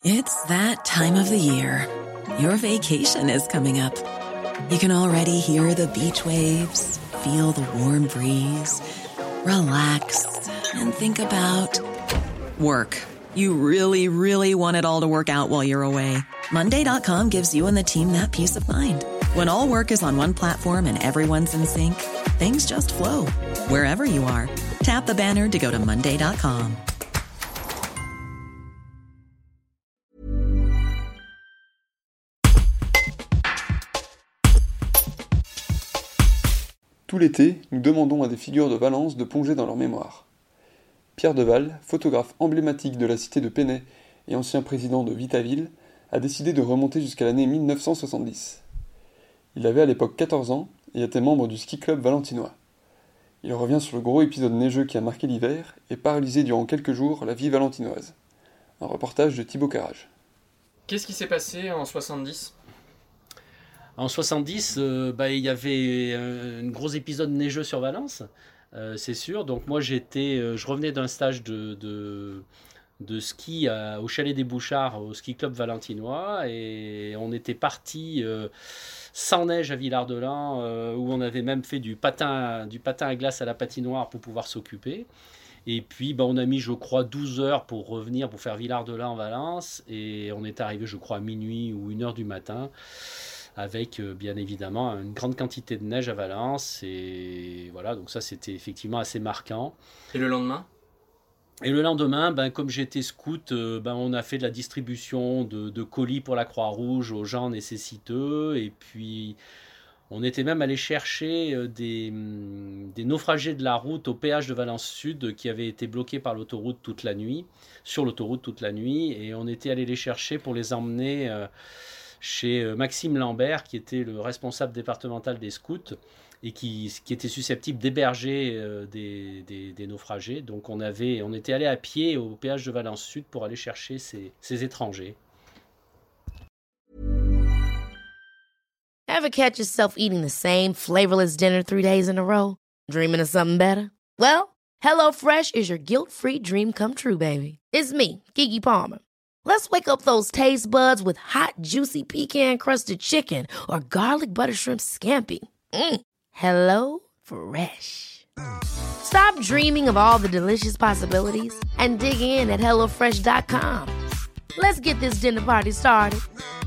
It's that time of the year. Your vacation is coming up. You can already hear the beach waves, feel the warm breeze, relax, and think about work. You really, really want it all to work out while you're away. Monday.com gives you and the team that peace of mind. When all work is on one platform and everyone's in sync, things just flow. Wherever you are, tap the banner to go to Monday.com. Tout l'été, nous demandons à des figures de Valence de plonger dans leur mémoire. Pierre Deval, photographe emblématique de la cité de Penney et ancien président de Vitaville, a décidé de remonter jusqu'à l'année 1970. Il avait à l'époque 14 ans et était membre du ski club valentinois. Il revient sur le gros épisode neigeux qui a marqué l'hiver et paralysé durant quelques jours la vie valentinoise. Un reportage de Thibaut Carrage. Qu'est-ce qui s'est passé en 70 ? En 70, il y avait un gros épisode neigeux sur Valence, c'est sûr. Donc moi, je revenais d'un stage de ski au Chalet des Bouchards, au ski club valentinois, et on était parti sans neige à Villard-de-Lans, où on avait même fait du patin à glace à la patinoire pour pouvoir s'occuper. Et puis on a mis, je crois, 12 heures pour revenir, pour faire Villard-de-Lans en Valence, et on est arrivé, je crois, à minuit ou 1h du matin. Avec bien évidemment une grande quantité de neige à Valence, et voilà, donc ça c'était effectivement assez marquant. Et le lendemain ? Et le lendemain, comme j'étais scout, on a fait de la distribution de colis pour la Croix-Rouge aux gens nécessiteux, et puis on était même allé chercher des naufragés de la route au péage de Valence Sud qui avaient été bloqués par l'autoroute toute la nuit, et on était allé les chercher pour les emmener chez Maxime Lambert, qui était le responsable départemental des scouts et qui était susceptible d'héberger des naufragés. Donc on était allé à pied au péage de Valence Sud pour aller chercher ces étrangers. Ever catch yourself eating the same flavorless dinner 3 days in a row? Dreaming of something better? Well, HelloFresh is your guilt-free dream come true, baby. It's me, Keke Palmer. Let's wake up those taste buds with hot, juicy pecan-crusted chicken or garlic butter shrimp scampi. Hello Fresh. Stop dreaming of all the delicious possibilities and dig in at HelloFresh.com. Let's get this dinner party started.